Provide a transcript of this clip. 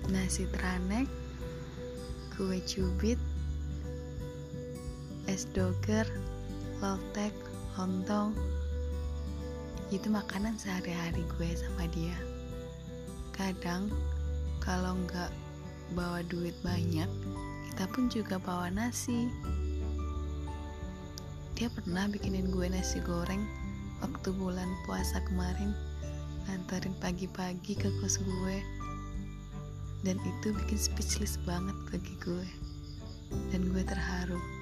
nasi teranek, kue cubit, es doger, lotek, lontong. Itu makanan sehari-hari gue sama dia. Kadang kalau nggak bawa duit banyak, kita pun juga bawa nasi. Dia pernah bikinin gue nasi goreng waktu bulan puasa kemarin, nganterin pagi-pagi ke kos gue. Dan itu bikin speechless banget bagi gue. Dan gue terharu.